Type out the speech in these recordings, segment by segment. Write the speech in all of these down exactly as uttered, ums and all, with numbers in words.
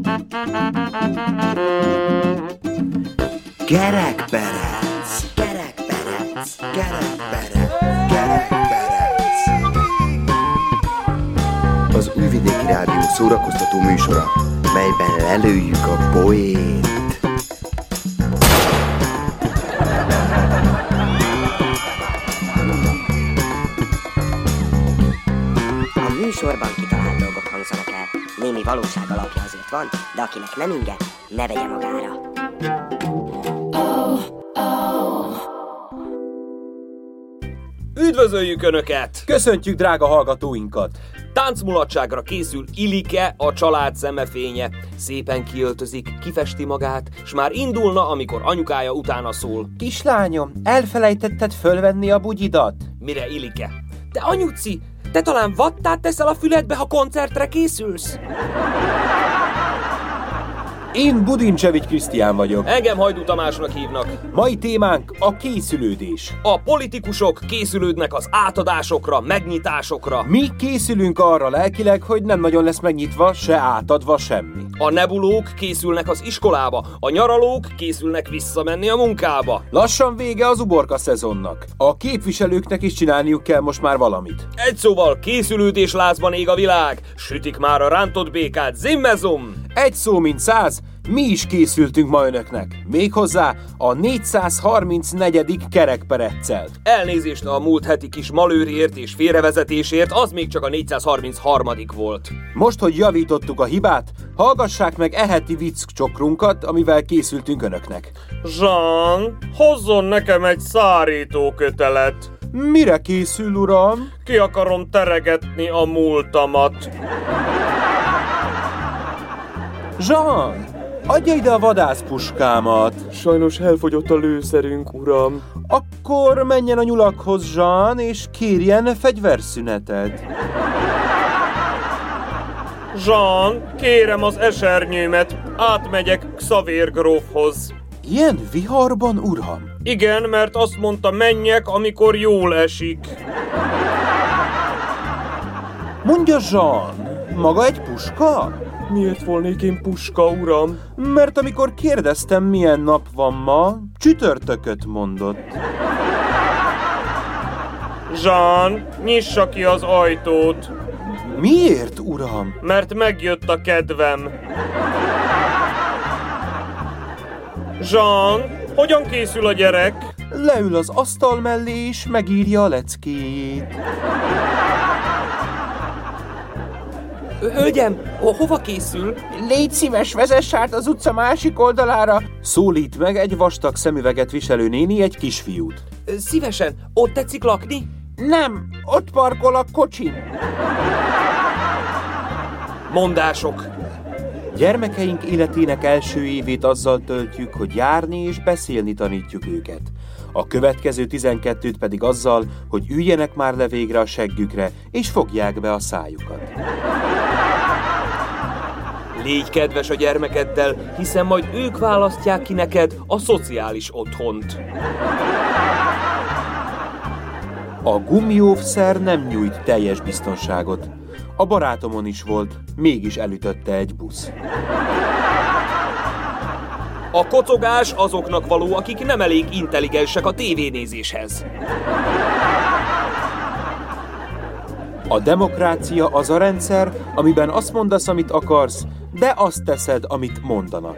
Kerekperec, kerekperec, kerekperec, kerekperec. Az Újvidéki Rádió szórakoztató műsora, melyben lelőjük a poént. A műsorban kitalált dolgok hangzanak el. Némi valóság alapja azért van, de akinek nem inge, ne vegye magára. Üdvözöljük Önöket! Köszöntjük drága hallgatóinkat! Táncmulatságra készül Ilike, a család szemefénye. Szépen kiöltözik, kifesti magát, s már indulna, amikor anyukája utána szól. Kislányom, elfelejtetted fölvenni a bugyidat? Mire Ilike? Te anyuci, te talán vattát teszel a füledbe, ha koncertre készülsz? Én Budincsevics Krisztián vagyok. Engem Hajdú Tamásnak hívnak. Mai témánk a készülődés. A politikusok készülődnek az átadásokra, megnyitásokra. Mi készülünk arra lelkileg, hogy nem nagyon lesz megnyitva, se átadva semmi. A nebulók készülnek az iskolába, a nyaralók készülnek visszamenni a munkába. Lassan vége az uborka szezonnak. A képviselőknek is csinálniuk kell most már valamit. Egy szóval készülődés lázban ég a világ. Sütik már a rántott békát, zimmezum! Egy szó mint száz, mi is készültünk ma önöknek. Méghozzá a négyszázharmincnegyedik kerekpereccel. Elnézést a múlt heti kis malőrért és félrevezetésért, az még csak a négyszázharmincharmadik volt. Most, hogy javítottuk a hibát, hallgassák meg e heti vicccsokrunkat, amivel készültünk önöknek. Jean, hozzon nekem egy szárítókötelet. Mire készül, uram? Ki akarom teregetni a múltamat. Jean, adja ide a vadászpuskámat. Sajnos elfogyott a lőszerünk, uram. Akkor menjen a nyulakhoz, Jean, és kérjen fegyverszünetet. Jean, kérem az esernyőmet, átmegyek Xavér grófhoz. Ilyen viharban, uram? Igen, mert azt mondta, menjek, amikor jól esik. Mondja, Jean, maga egy puska? Miért volnék én puska, uram? Mert amikor kérdeztem, milyen nap van ma, csütörtököt mondott. Jean, nyissa ki az ajtót. Miért, uram? Mert megjött a kedvem. Jean, hogyan készül a gyerek? Leül az asztal mellé, és megírja a leckéjét. Hölgyem, hova készül? Légy szíves, vezess át az utca másik oldalára! Szólít meg egy vastag szemüveget viselő néni egy kisfiút. Szívesen, ott tetszik lakni? Nem, ott parkol a kocsin. Mondások. Gyermekeink életének első évét azzal töltjük, hogy járni és beszélni tanítjuk őket. A következő tizenkettőt pedig azzal, hogy üljenek már le végre a seggükre, és fogják be a szájukat. Légy kedves a gyermekeddel, hiszen majd ők választják ki neked a szociális otthont. A gumióvszer nem nyújt teljes biztonságot. A barátomon is volt, mégis elütötte egy busz. A kocogás azoknak való, akik nem elég intelligensek a tévénézéshez. A demokrácia az a rendszer, amiben azt mondasz, amit akarsz, de azt teszed, amit mondanak.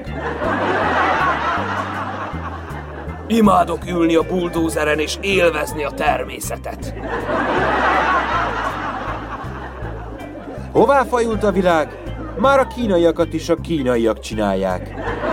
Imádok ülni a buldózeren és élvezni a természetet. Hová fajult a világ? Már a kínaiakat is a kínaiak csinálják.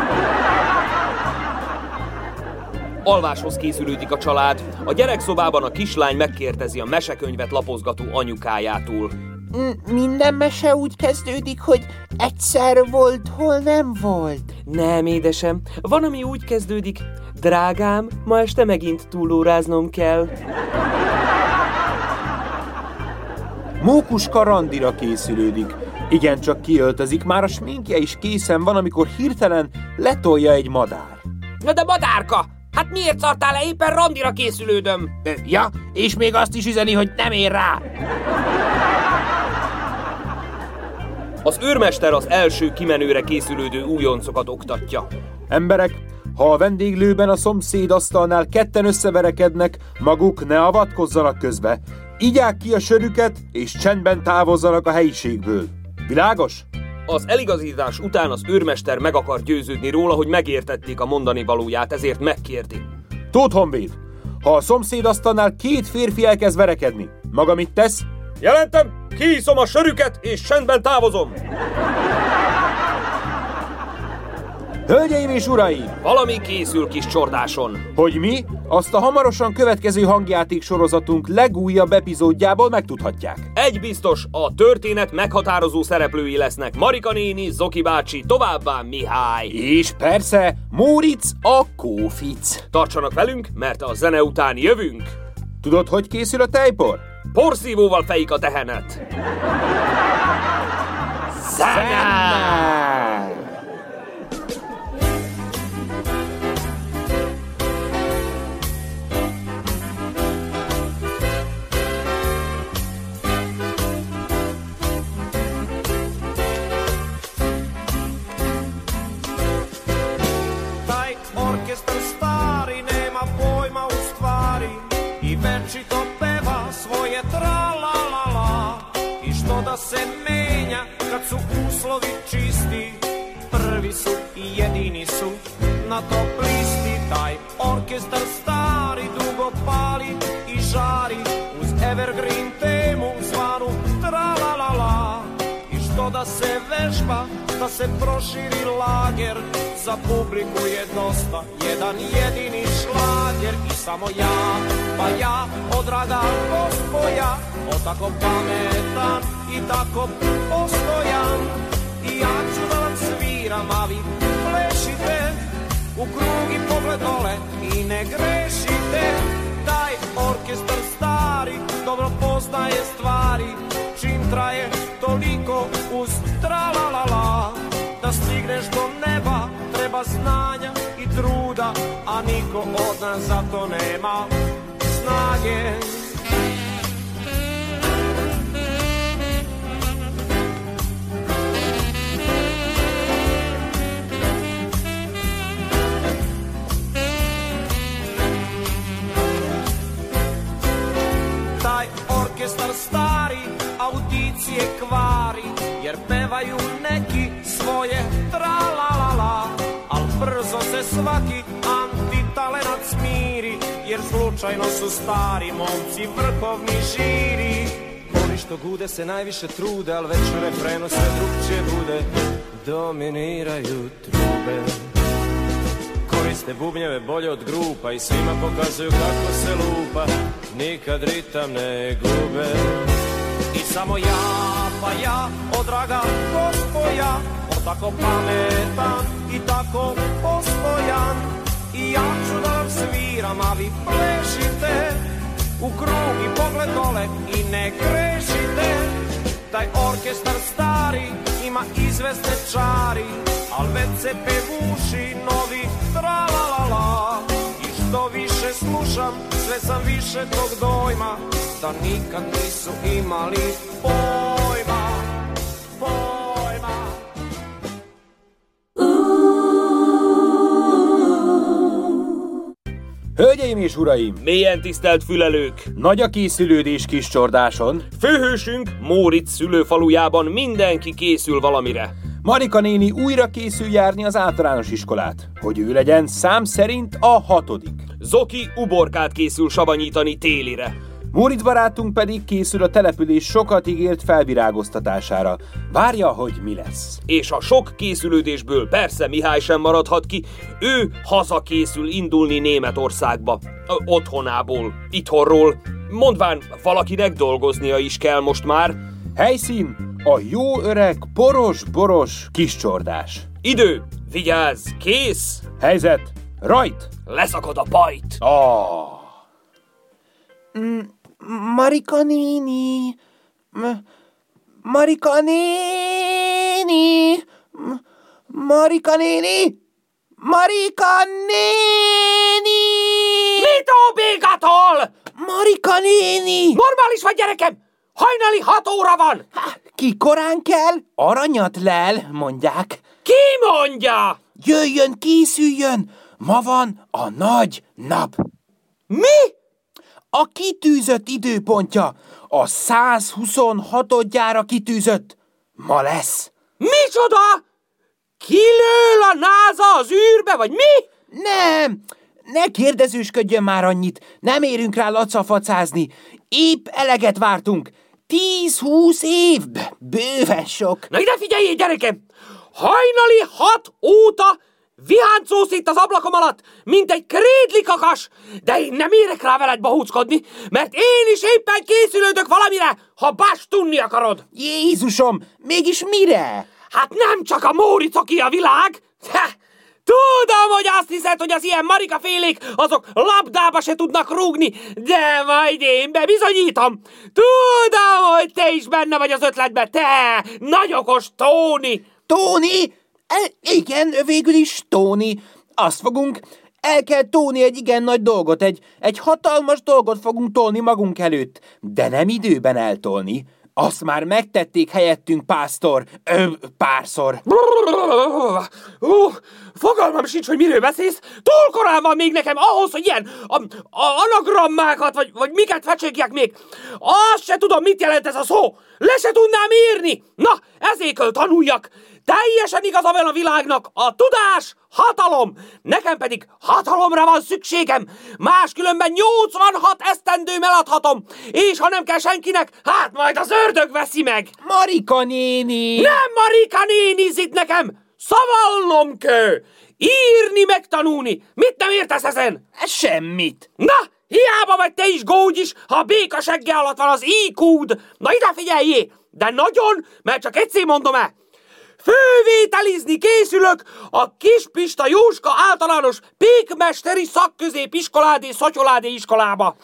Alváshoz készülődik a család. A gyerekszobában a kislány megkérdezi a mesekönyvet lapozgató anyukájától. Minden mese úgy kezdődik, hogy egyszer volt, hol nem volt. Nem, édesem. Van, ami úgy kezdődik. Drágám, ma este megint túlóráznom kell. Mókuska randira készülődik. Igencsak kiöltözik, már a sminkje is készen van, amikor hirtelen letolja egy madár. Na de madárka! Hát miért szartál le? Éppen randira készülődöm. Ja, és még azt is üzeni, hogy nem ér rá. Az őrmester az első kimenőre készülődő újoncokat oktatja. Emberek, ha a vendéglőben a szomszéd asztalnál ketten összeverekednek, maguk ne avatkozzanak közbe. Igyák ki a sörüket, és csendben távozzanak a helyiségből. Világos? Az eligazítás után az őrmester meg akar győződni róla, hogy megértették a mondani valóját, ezért megkérdi. Tóth Honvéd, ha a szomszéd asztalnál két férfi elkezd verekedni, maga mit tesz? Jelentem, kiiszom a sörüket, és csendben távozom. Hölgyeim és uraim! Valami készül kis csordáson. Hogy mi? Azt a hamarosan következő hangjáték sorozatunk legújabb epizódjából megtudhatják. Egy biztos, a történet meghatározó szereplői lesznek Marika néni, Zoki bácsi, továbbá Mihály. És persze, Móricz a Kófic. Tartsanak velünk, mert a zene után jövünk. Tudod, hogy készül a tejpor? Porszívóval fejik a tehenet. Zene! Da se menja kad su uslovi čisti, prvi su i jedini su na top listi. Taj orkestar stari dugo pali i žari uz evergreen temu zvanu tra-la-la-la. I što da se vežba, da se proširi lager, za publiku je dosta jedan jedini šlager. I samo ja, pa ja, o draga gospoja, o tako pametan i tako postojan. I ja ću da vam sviram, a vi plešite u krug i pogled dole i ne grešite. Taj orkestar stari dobro poznaje stvari, čim traje toliko uz tra-la-la-la. Da stigneš do neba treba znanja i truda, a niko od nas za to nema snage. Taj orkestar stari audicije kvari, jer pevaju neki svoje tra-la-la-la. Al brzo se svaki antitalenat smiri, jer slučajno su stari momci vrhovni žiri. Oni što gude se najviše trude, al već u refrenu sve drugčije bude. Dominiraju trube, koriste bubnjeve bolje od grupa i svima pokazuju kako se lupa, nikad ritam ne gube. I samo ja, pa ja, o draga gospoja, o tako pametan i tako postojan. I ja ću da vam sviram, a vi plešite u krug i pogled dole i ne grešite. Taj orkestar stari ima izvesne čari, al već se pevuši novi tra-la-la-la. I što više slušam, sve sam više tog dojma, da nikad nisu imali pojma, pojma. Hölgyeim és uraim! Mélyen tisztelt fülelők! Nagy a készülődés kis csordáson. Főhősünk Móricz szülőfalujában mindenki készül valamire. Marika néni újra készül járni az általános iskolát, hogy ő legyen szám szerint a hatodik. Zoki uborkát készül savanyítani télire. Móricz barátunk pedig készül a település sokat ígért felvirágoztatására. Várja, hogy mi lesz. És a sok készülődésből persze Mihály sem maradhat ki. Ő hazakészül indulni Németországba. Ö, otthonából, itthonról. Mondván, valakinek dolgoznia is kell most már. Helyszín a jó öreg poros-boros kiscsordás. Idő, vigyázz, kész. Helyzet, rajt! Leszakad a pajt. Oh. Mm, Marika néni, M- Marika néni, M- Marika néni, Marika néni! Mit óbégatol? Marika néni! Normális vagy, gyerekem? Hajnali hat óra van! Aki korán kell, aranyat lel, mondják. Ki mondja? Jöjjön, készüljön! Ma van a nagy nap. Mi? A kitűzött időpontja, a százhuszonhatodjára kitűzött. Ma lesz. Micsoda? Kilől a náza az űrbe, vagy mi? Nem, ne kérdezősködjön már annyit, nem érünk rá lacafacázni. Épp eleget vártunk. Tíz-húsz év, bőven sok. Na ide figyeljél, gyerekem! Hajnali hat óta viháncósz itt az ablakom alatt, mint egy krédlikakas, de én nem érek rá veled bohóckodni, mert én is éppen készülődök valamire, ha bástunni akarod. Jézusom, mégis mire? Hát nem csak a Móricoki a világ. Ha, tudom, hogy azt hiszed, hogy az ilyen marikafélék azok labdába se tudnak rúgni, de majd én bebizonyítom. Tudom, hogy te is benne vagy az ötletben, te nagy okos Tóni. Tóni? E, igen, végül is Tóni. Azt fogunk, el kell tóni egy igen nagy dolgot, egy, egy hatalmas dolgot fogunk tolni magunk előtt, de nem időben eltolni. Azt már megtették helyettünk, pásztor, ö, párszor. Uh, fogalmam sincs, hogy miről beszélsz. Túl korán van még nekem ahhoz, hogy ilyen a, a anagrammákat, vagy, vagy miket fecségjek még. Azt se tudom, mit jelent ez a szó. Le se tudnám írni. Na, ezért kell tanuljak. Teljesen igaza van a világnak. A tudás hatalom. Nekem pedig hatalomra van szükségem. Máskülönben nyolcvanhat esztendőm eladhatom. És ha nem kell senkinek, hát majd az ördög veszi meg. Marika néni! Nem Marika nénizik nekem. Szavalnom kell. Írni, megtanulni. Mit nem értesz ezen? Semmit. Na, hiába vagy te is gógyis, ha a béka segge alatt van az í kúd. Na ide figyeljé. De nagyon, mert csak egyszer mondom el. Fővételizni készülök a Kispista Jóska általános pékmesteri szakközépiskoládé szotyoládé iskolába.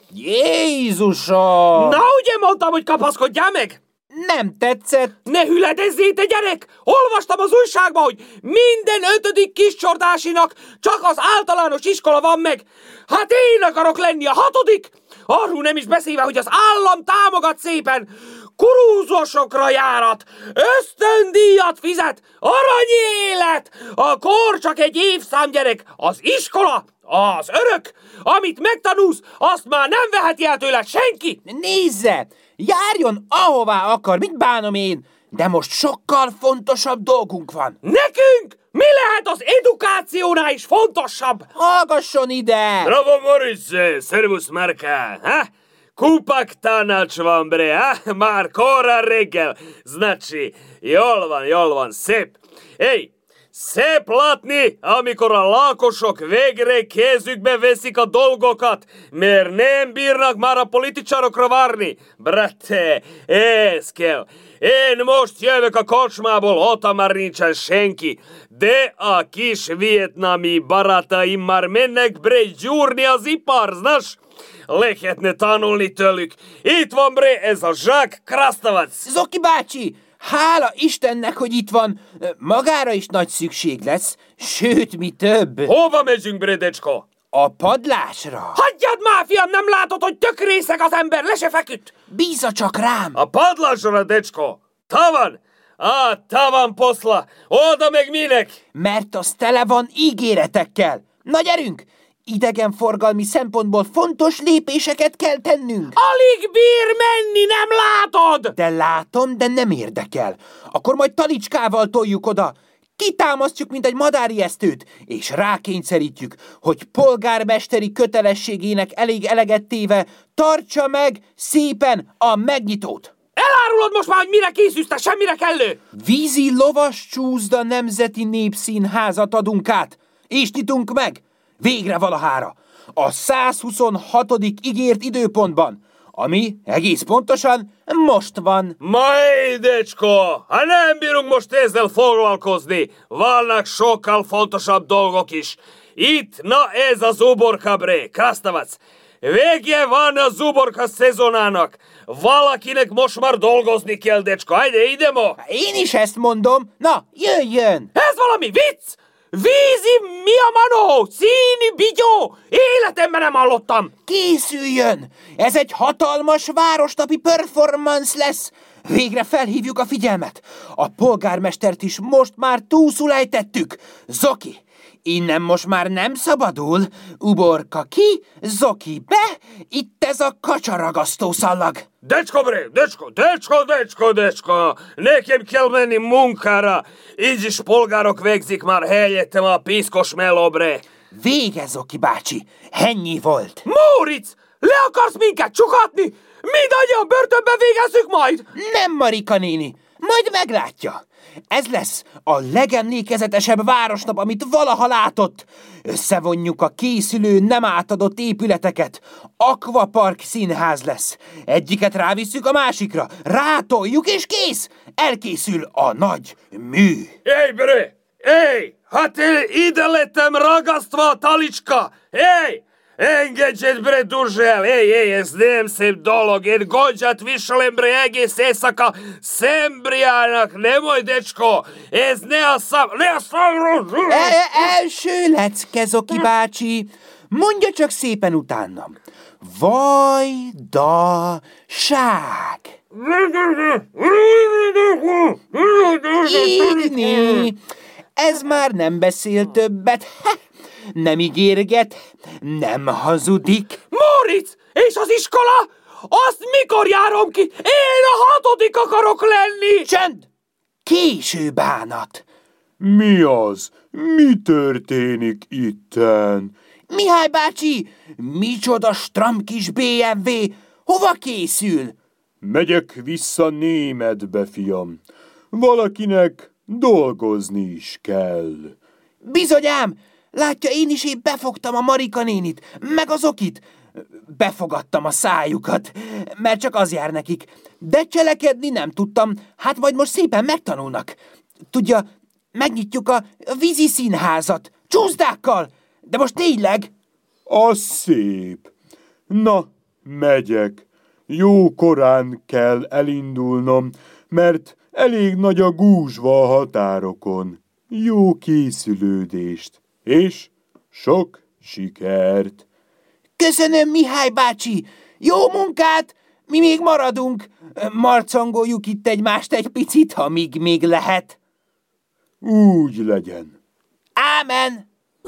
Jézusom! Na, ugye mondtam, hogy kapaszkodjál meg? Nem tetszett. Ne hüledezzél, te gyerek! Olvastam az újságban, hogy minden ötödik kiscsordásinak csak az általános iskola van meg. Hát én akarok lenni a hatodik! Arról nem is beszélve, hogy az állam támogat szépen. Kurúzosokra járat, ösztöndíjat fizet, aranyélet, a kor csak egy évszám, gyerek, az iskola, az örök, amit megtanulsz, azt már nem veheti el tőled senki. Nézze, járjon ahová akar, mit bánom én, de most sokkal fontosabb dolgunk van. Nekünk mi lehet az edukációnál is fontosabb? Hallgasson ide! Bravo, Moritz, szervusz, Marka, ha? Kupak tanács van, bre, ha? Már korán reggel. Znači, jól van, jól van, szép. Ej, szép látni, amikor a lakosok végre kezükbe veszik a dolgokat, mert nem bírnak már a politicsarokra várni. Brate, ez kell. Én most jövök a kocsmából, ott már nincsen senki, de a kis vietnami barátaim már mennek, bre, gyúrni az ipar, znaš? Lehetne tanulni tőlük. Itt van, bre, ez a Zsák Krastavac. Zoki bácsi, hála Istennek, hogy itt van. Magára is nagy szükség lesz, sőt, mi több. Hova megyünk, bre, decsko? A padlásra. Hagyjad már, fiam, nem látod, hogy tök részeg az ember, le se feküdt. Bízza csak rám. A padlásra, decsko. Tavan. Á, tavan poszla. Oda meg minek? Mert az tele van ígéretekkel. Na gyerünk! Idegenforgalmi szempontból fontos lépéseket kell tennünk. Alig bír menni, nem látod? De látom, de nem érdekel. Akkor majd talicskával toljuk oda. Kitámasztjuk, mint egy madárijesztőt, és rákényszerítjük, hogy polgármesteri kötelességének elég eleget téve tartsa meg szépen a megnyitót. Elárulod most már, hogy mire készülsz, te semmire kellő? Vízi lovas csúszda nemzeti népszínházat adunk át, és nyitunk meg. Végre valahára, a százhuszonhatodik ígért időpontban, ami egész pontosan most van. Majd, decsko, ha nem bírunk most ezzel foglalkozni, vannak sokkal fontosabb dolgok is. Itt, na ez az uborka, bre, Krastavac. Vége van a uborka szezonának. Valakinek most már dolgozni kell, decsko. Hajde, ide mo. Én is ezt mondom. Na, jöjjön! Ez valami vicc! Vízi mi a manó? Színi bigyó! Életemben nem hallottam! Készüljön! Ez egy hatalmas városnapi performance lesz! Végre felhívjuk a figyelmet! A polgármestert is most már túlszul ejtettük! Zoki, innen most már nem szabadul! Uborka ki, Zoki be! Itt ez a kacsaragasztó szallag! Decska, bre, decska, decska, decska, decska! Nekem kell menni munkára! Így is polgárok végzik már helyettem a piszkos meló, bre! Vége, Zoki bácsi! Ennyi volt! Móricz! Le akarsz minket csukatni? Mindannyian börtönben végezzük majd! Nem, Marika néni! Majd meglátja! Ez lesz a legemlékezetesebb városnap, amit valaha látott. Összevonjuk a készülő, nem átadott épületeket. Aquapark színház lesz. Egyiket rávisszük a másikra, rátoljuk és kész! Elkészül a nagy mű. Éj, bre! Éj! Hát én ide lettem ragasztva a talicska! Éj! Engedjed, bre, Duzsel! Éj, éj, ez nem szép dolog! Én gondját viselem, bre, egész éjszaka Szembriának, nem oly, decsko! Ez ne a szám... Ne a szám... E- első lecke, Zoki bácsi! Mondja csak szépen utánam. Vajdaság! Így, ez már nem beszél többet. Ha, nem ígérget, nem hazudik. Móricz! És az iskola? Azt mikor járom ki? Én a hatodik akarok lenni! Csend! Késő bánat. Mi az? Mi történik itten? Mihály bácsi, micsoda stram kis bé em vé, hova készül? Megyek vissza Németbe, fiam. Valakinek dolgozni is kell. Bizonyám, látja, én is épp befogtam a Marika nénit, meg az Okit. Befogadtam a szájukat, mert csak az jár nekik. De cselekedni nem tudtam, hát majd most szépen megtanulnak. Tudja, megnyitjuk a vízi színházat, csúszdákkal, de most tényleg. Az szép. Na, megyek. Jó korán kell elindulnom, mert elég nagy a gúzsva a határokon. Jó készülődést, és sok sikert. Köszönöm, Mihály bácsi! Jó munkát! Mi még maradunk. Marcangoljuk itt egymást egy picit, ha még, még lehet. Úgy legyen. Ámen!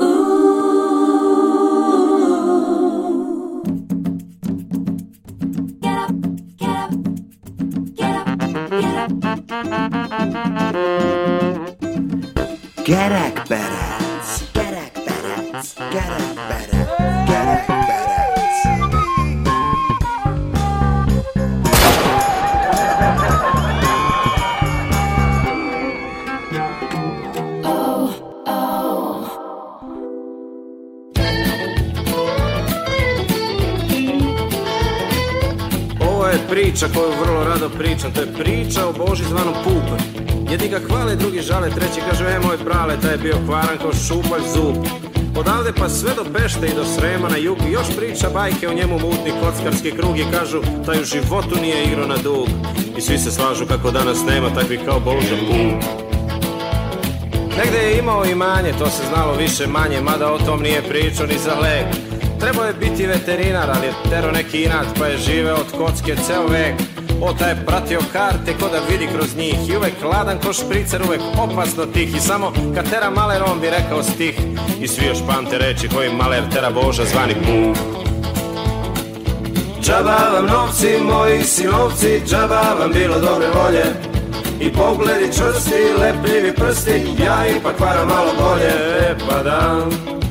Gerekperec, gerekperec, gerekperec, gerekperec. Ovo je priča koju vrlo rado pričam, to je priča o Boži zvanom Pup. Jedni ga hvale, drugi žale, treći kaže, e moj prale, taj je bio kvaran kao šupalj zub. Odavde pa sve do Pešte i do Srema na jug, još priča bajke o njemu mutni kockarski krug i kažu, taj u životu nije igrao na dug. I svi se slažu kako danas nema takvih kao Boža Pup. Negde je imao imanje, to se znalo više manje, mada o tom nije pričao ni za lek. Trebao je biti veterinar, ali je tero neki inat, pa je živeo od kocke ceo vek. O, taj je pratio karte ko da vidi kroz njih i uvek hladan ko špricer, uvek opasno tih. I samo kad tera maler on bi rekao stih. I svi još pamte reči koji maler tera Boža zvani Pup. Džaba vam novci, moji sinovci, džaba vam bilo dobre volje. I pogledi čvrsti, lepljivi prsti, ja ipak varam malo bolje, e pa da.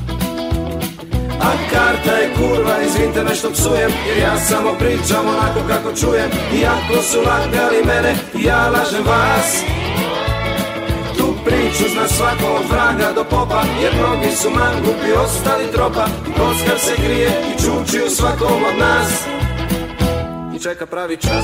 A karta je kurva, izvinite me što psujem, jer ja samo pričam onako kako čujem. Iako su lagali mene, ja lažem vas. Tu priču zna svako od vraga do popa, jer mnogi su mangupi ostali tropa. Kockar se grije i čuči u svakom od nas i čeka pravi čas.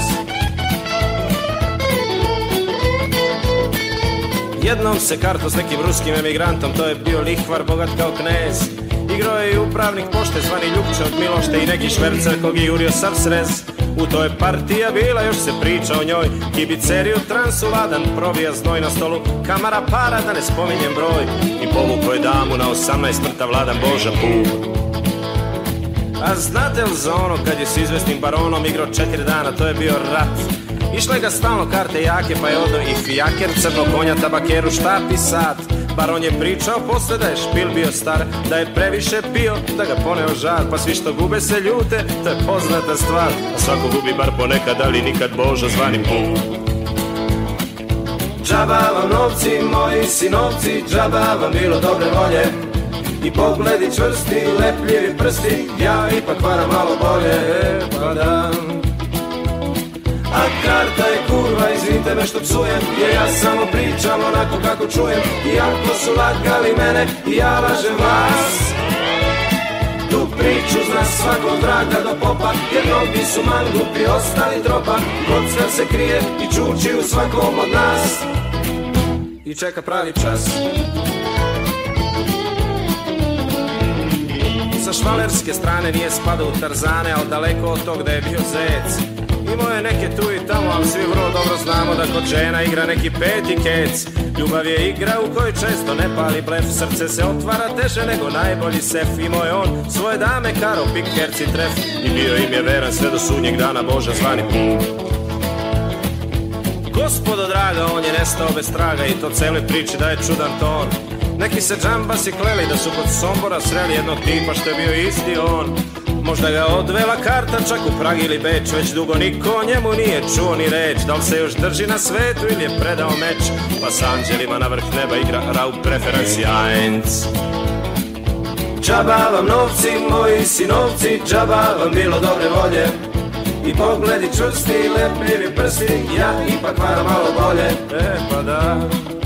Jednom se karto s nekim ruskim emigrantom, to je bio lihvar bogat kao knez. Igro je i upravnik pošte zvani Ljupče od Milošte i neki švercer kog je jurio sav srez. U toj partija bila, još se priča o njoj. Kibiceriju transu ladan, probija znoj na stolu. Kamara para, da ne spominjem broj. I povukao je damu na osamnaest mrtav vladan Boža Pub. A znate li za ono kad je s izvesnim baronom igrao četiri dana, to je bio rat. Išle ga stalno karte jake, pa je odo i fijaker, crno konja, tabakeru, štap i sat. Baron je pričao posle da je špil bio star, da je previše pio, da ga poneo žar. Pa svi što gube se ljute, to je poznata stvar. A svako gubi bar ponekad, ali nikad Boža zvani Pub. Džaba vam novci, moji sinovci, džaba vam bilo dobre volje. I pogledi čvrsti, lepljivi prsti, ja ipak varam malo bolje, pa da. A karta je kurva, izvinite me što psujem, jer ja samo pričam onako kako čujem. Iako su lagali mene, i ja lažem vas. Tu priču zna svako od vraga do popa, jer mnogi su mangupi, ostali tropa. Kocka se krije i čuči u svakom od nas i čeka pravi čas. Sa švalerske strane nije spadao u Tarzane, ali daleko od tog da je bio zec. Imao je neke tu i tamo, ali svi vrlo dobro znamo da kod žena igra neki peti kec. Ljubav je igra u kojoj često ne pali blef, srce se otvara teže nego najbolji sef. Imao je on svoje dame, karo, pik, herci, tref, i bio im je veran sve do sudnjeg dana Boža zvani Pub. Gospodo draga, on je nestao bez traga i to cele priči da je čudan ton. Neki se džambasi kleli da su kod Sombora sreli jednog tipa što je bio isti on. Možda ga odvela karta čak u Prag ili Beč, već dugo niko o njemu nije čuo ni reč. Da li se još drži na svetu ili je predao meč, pa s anđelima na vrh neba igra Raub Preferenci eins. Džaba vam novci, moji sinovci, džaba vam bilo dobre volje. I pogledi čvrsti, lepljivi prsti, ja ipak varam malo bolje, e pa da.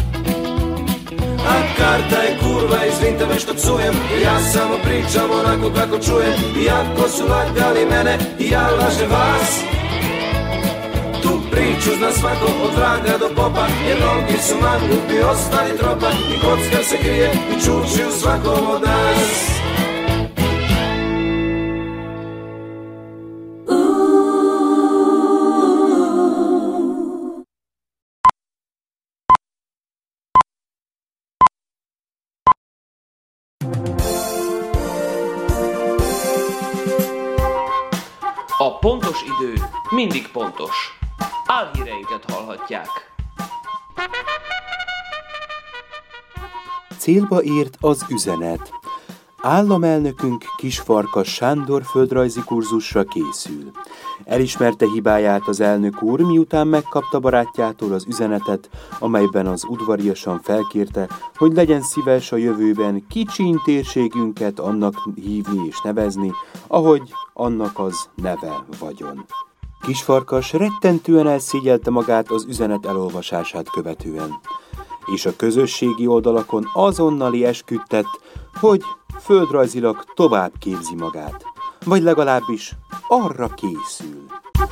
A karta je kurva, izvinite me što psujem, ja samo pričam onako kako čujem. Iako su lagali mene, i ja lažem vas. Tu priču zna svako od vraga do popa, jer mnogi su mangupi, ostali tropa. I kocka se krije i čuči u svakom od nas. A pontos idő mindig pontos. Álhíreinket hallhatják. Célba ért az üzenet. Államelnökünk Kisfarkas Sándor földrajzi kurzusra készül. Elismerte hibáját az elnök úr, miután megkapta barátjától az üzenetet, amelyben az udvariasan felkérte, hogy legyen szíves a jövőben kicsiny térségünket annak hívni és nevezni, ahogy annak az neve vagyon. Kisfarkas rettentően elszégyelte magát az üzenet elolvasását követően, és a közösségi oldalakon azonnali esküdtett, hogy földrajzilag tovább képzi magát, vagy legalábbis arra készül.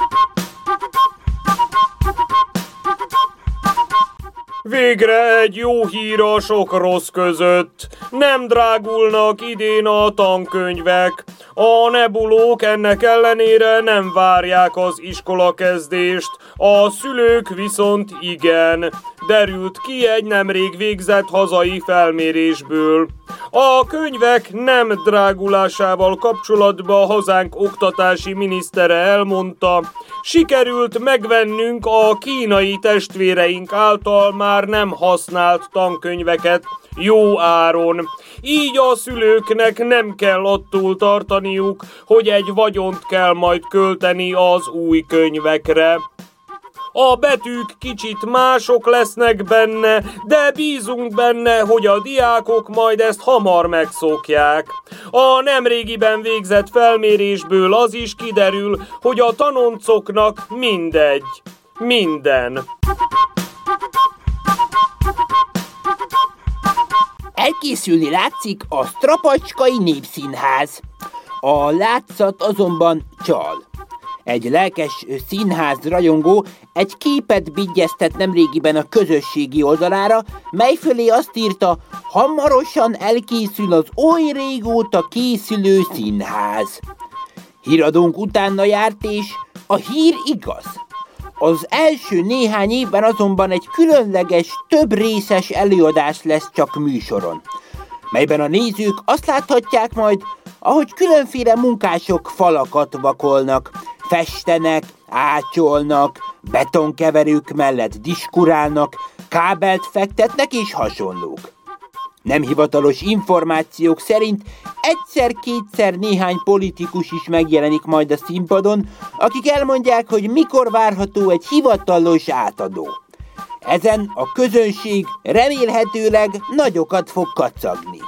Végre egy jó hír a sok rossz között. Nem drágulnak idén a tankönyvek. A nebulók ennek ellenére nem várják az iskolakezdést, a szülők viszont igen, derült ki egy nemrég végzett hazai felmérésből. A könyvek nem drágulásával kapcsolatban hazánk oktatási minisztere elmondta, sikerült megvennünk a kínai testvéreink által már nem használt tankönyveket jó áron. Így a szülőknek nem kell attól tartaniuk, hogy egy vagyont kell majd költeni az új könyvekre. A betűk kicsit mások lesznek benne, de bízunk benne, hogy a diákok majd ezt hamar megszokják. A nemrégiben végzett felmérésből az is kiderül, hogy a tanoncoknak mindegy. Minden. Elkészülni látszik a Strapacskai Népszínház. A látszat azonban csal. Egy lelkes színház rajongó egy képet bigyeztett nemrégiben a közösségi oldalára, mely fölé azt írta, hamarosan elkészül az oly régóta készülő színház. Híradónk utána járt, és a hír igaz. Az első néhány évben azonban egy különleges, több részes előadás lesz csak műsoron, melyben a nézők azt láthatják majd, ahogy különféle munkások falakat vakolnak, festenek, átyolnak, betonkeverők mellett diskurálnak, kábelt fektetnek és hasonlók. Nem hivatalos információk szerint egyszer-kétszer néhány politikus is megjelenik majd a színpadon, akik elmondják, hogy mikor várható egy hivatalos átadó. Ezen a közönség remélhetőleg nagyokat fog kacagni.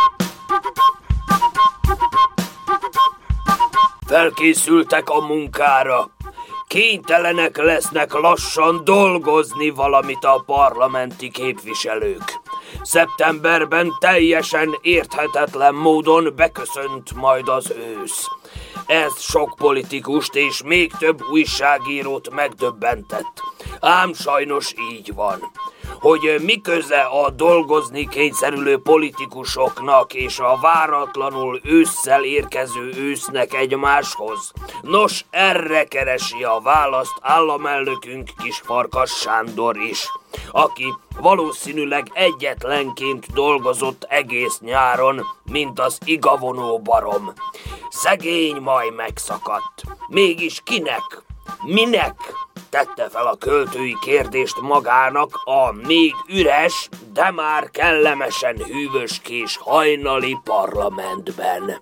Felkészültek a munkára. Kénytelenek lesznek lassan dolgozni valamit a parlamenti képviselők. Szeptemberben teljesen érthetetlen módon beköszönt majd az ősz. Ez sok politikust és még több újságírót megdöbbentett. Ám sajnos így van. Hogy mi köze a dolgozni kényszerülő politikusoknak és a váratlanul ősszel érkező ősznek egymáshoz? Nos, erre keresi a választ államelnökünk Kisfarkas Sándor is, aki valószínűleg egyetlenként dolgozott egész nyáron, mint az igavonó barom. Szegény maj megszakadt. Mégis kinek? Minek? Tette fel a költői kérdést magának a még üres, de már kellemesen hűvöskés hajnali parlamentben.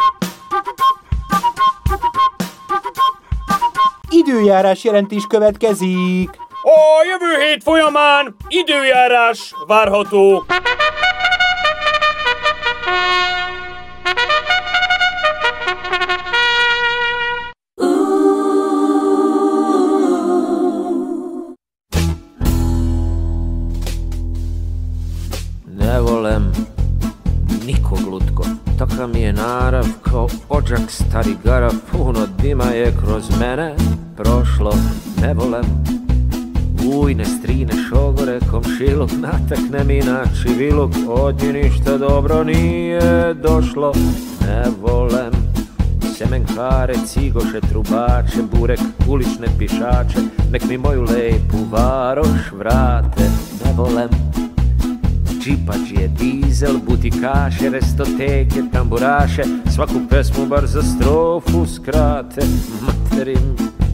Időjárás jelentés következik. A jövő hét folyamán időjárás várható. Ne volem nikog lutko, takav mi je narav kao odžak stari garav, puno dima je kroz mene prošlo. Ne volem ujne, strine, šogore, komšiluk, natakne mi na čiviluk, od nje ništa dobro nije došlo. Ne volem semenkare, cigoše, trubače, burek, ulične pišače, nek mi moju lepu varoš vrate. Ne volem džipađije, dizel, butikaše, restoteke, tamburaše, svaku pesmu bar za strofu skrate. Materim,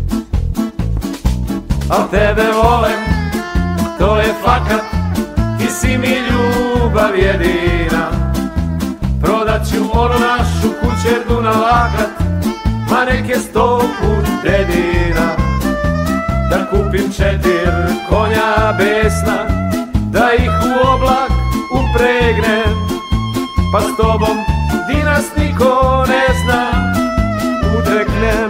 al tebe volem, to je fakat, ti si mi ljubav jedina. Prodat ću onu našu kućerdu na lakat, ma nek je sto put dedina. Da kupim četir konja besna, da ih u oblak upregnem, pa s tobom di nas niko ne zna udreknem.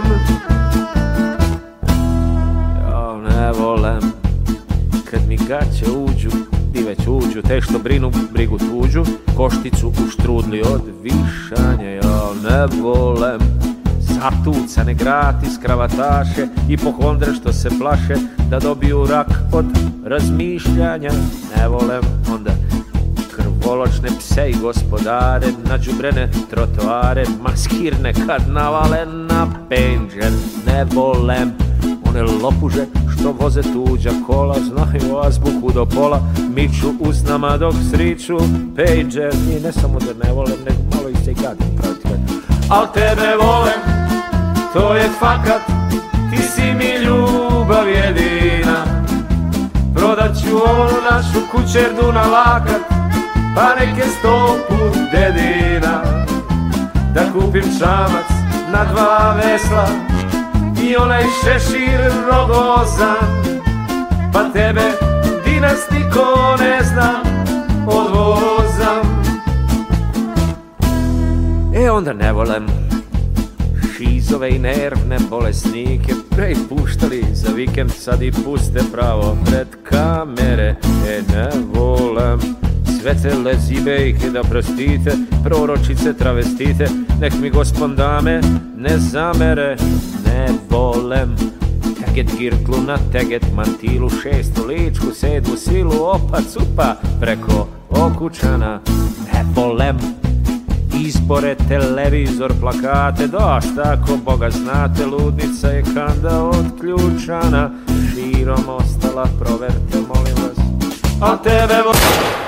Ja ne volem kad mi gaće uđu, ti već uđu, te što brinu brigu tuđu, košticu u štrudli od višanja. Ja ne volem zatucane gratis kravataše i pohondre što se plaše da dobiju rak od razmišljanja. Ne volem onda krvoločne pse i gospodare, nađubrene trotoare, maskirne karnavale na penđer. Ne volem one lopuže što voze tuđa kola, znaju azbuku do pola, miču usnama dok sriču pejđer. I ne samo da ne volem, nego malo i se gadim protiv. Al tebe volem, to je fakat, ti si mi ljubav jedina. Prodat ću onu našu kućerdu na lakat, pa neke sto put dedina. Da kupim čamac na dva vesla i onaj šešir rogozan, pa tebe di nas niko ne zna odvozam. E onda ne volem šizove i nervne bolesnike, prej puštali za vikend, sad i puste pravo pred kamere. E ne volem sve te lezibejke, da prostite, proročice, travestite, nek mi gospon dame ne zamere. Ne ne volem. Teget girklu na teget mantilu, šestu ličku, sedmu silu, opa cupa preko okučana. Ne volem izbore, televizor, plakate, dosta ako Boga znate, ludnica je kanda odključana. Širom ostala, proverte molim vas. A tebe volim.